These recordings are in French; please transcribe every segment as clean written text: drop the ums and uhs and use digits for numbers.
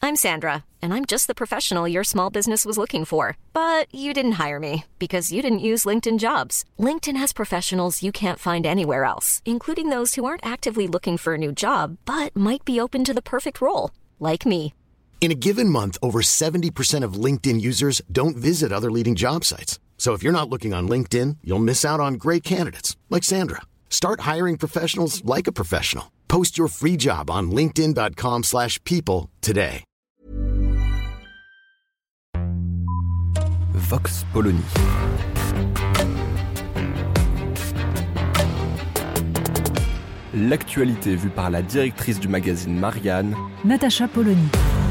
I'm Sandra, and I'm just the professional your small business was looking for. But you didn't hire me because you didn't use LinkedIn Jobs. LinkedIn has professionals you can't find anywhere else, including those who aren't actively looking for a new job, but might be open to the perfect role, like me. In a given month, over 70% of LinkedIn users don't visit other leading job sites. So if you're not looking on LinkedIn, you'll miss out on great candidates like Sandra. Start hiring professionals like a professional. Post your free job on linkedin.com/people today. Vox Polony. L'actualité vue par la directrice du magazine Marianne, Natacha Polony.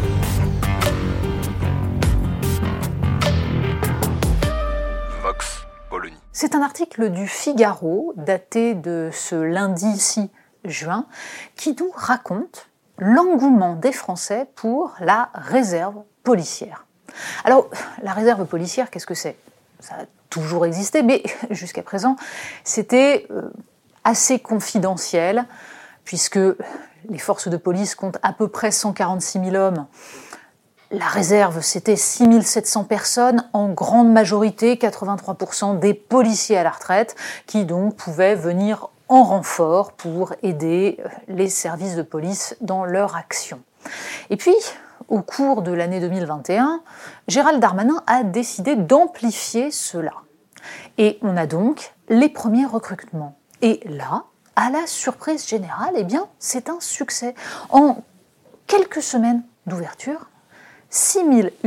Vox Polony. C'est un article du Figaro, daté de ce lundi 6 juin, qui nous raconte l'engouement des Français pour la réserve policière. Alors, la réserve policière, qu'est-ce que c'est ? Ça a toujours existé, mais jusqu'à présent, c'était assez confidentiel, puisque les forces de police comptent à peu près 146 000 hommes. La réserve, c'était 6 700 personnes, en grande majorité, 83% des policiers à la retraite, qui donc pouvaient venir en renfort pour aider les services de police dans leur action. Et puis, au cours de l'année 2021, Gérald Darmanin a décidé d'amplifier cela. Et on a donc les premiers recrutements. Et là, à la surprise générale, eh bien, c'est un succès. En quelques semaines d'ouverture, 6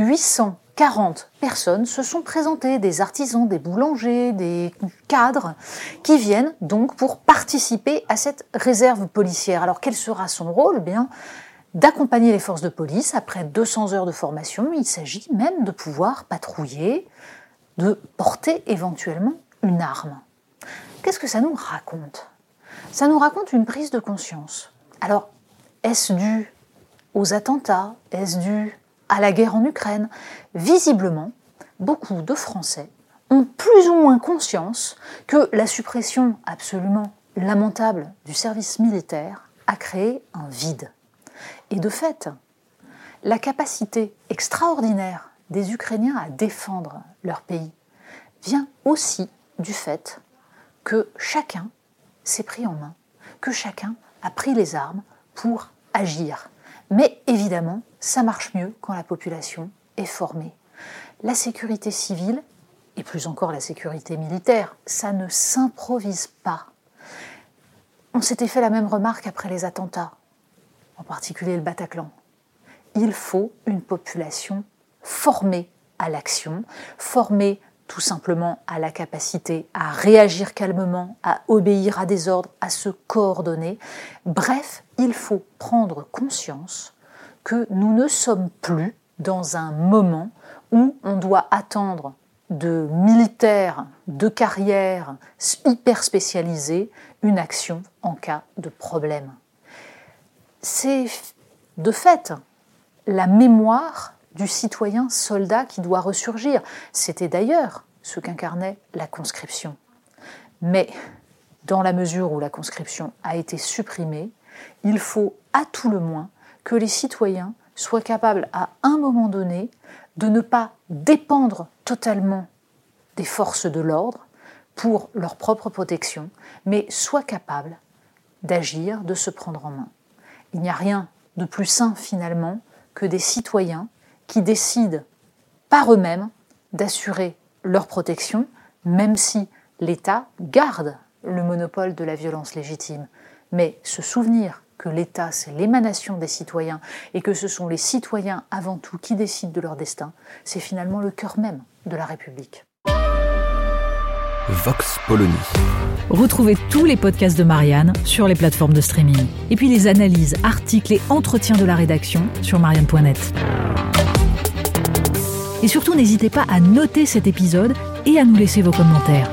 840 personnes se sont présentées, des artisans, des boulangers, des cadres, qui viennent donc pour participer à cette réserve policière. Alors quel sera son rôle ? Eh bien, d'accompagner les forces de police après 200 heures de formation. Il s'agit même de pouvoir patrouiller, de porter éventuellement une arme. Qu'est-ce que ça nous raconte ? Ça nous raconte une prise de conscience. Alors, est-ce dû aux attentats ? Est-ce dû à la guerre en Ukraine ? Visiblement, beaucoup de Français ont plus ou moins conscience que la suppression absolument lamentable du service militaire a créé un vide. Et de fait, la capacité extraordinaire des Ukrainiens à défendre leur pays vient aussi du fait que chacun s'est pris en main, que chacun a pris les armes pour agir. Mais évidemment, ça marche mieux quand la population est formée. La sécurité civile, et plus encore la sécurité militaire, ça ne s'improvise pas. On s'était fait la même remarque après les attentats, en particulier le Bataclan. Il faut une population formée à l'action, formée tout simplement à la capacité à réagir calmement, à obéir à des ordres, à se coordonner. Bref, il faut prendre conscience que nous ne sommes plus dans un moment où on doit attendre de militaires de carrière hyper spécialisés une action en cas de problème. C'est de fait la mémoire du citoyen soldat qui doit ressurgir. C'était d'ailleurs ce qu'incarnait la conscription. Mais dans la mesure où la conscription a été supprimée, il faut à tout le moins que les citoyens soient capables à un moment donné de ne pas dépendre totalement des forces de l'ordre pour leur propre protection, mais soient capables d'agir, de se prendre en main. Il n'y a rien de plus sain finalement que des citoyens qui décident par eux-mêmes d'assurer leur protection, même si l'État garde le monopole de la violence légitime. Mais se souvenir que l'État, c'est l'émanation des citoyens et que ce sont les citoyens avant tout qui décident de leur destin, c'est finalement le cœur même de la République. Vox Polony. Retrouvez tous les podcasts de Marianne sur les plateformes de streaming. Et puis les analyses, articles et entretiens de la rédaction sur marianne.net. Et surtout, n'hésitez pas à noter cet épisode et à nous laisser vos commentaires.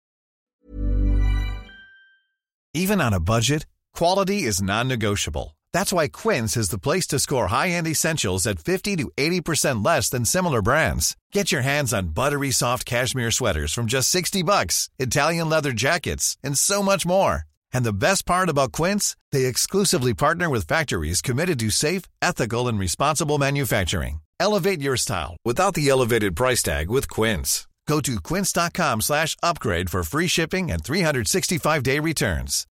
Even on a budget, quality is non-negotiable. That's why Quince is the place to score high-end essentials at 50 to 80% less than similar brands. Get your hands on buttery soft cashmere sweaters from just $60, Italian leather jackets, and so much more. And the best part about Quince, they exclusively partner with factories committed to safe, ethical, and responsible manufacturing. Elevate your style without the elevated price tag with Quince. Go to quince.com/upgrade for free shipping and 365-day returns.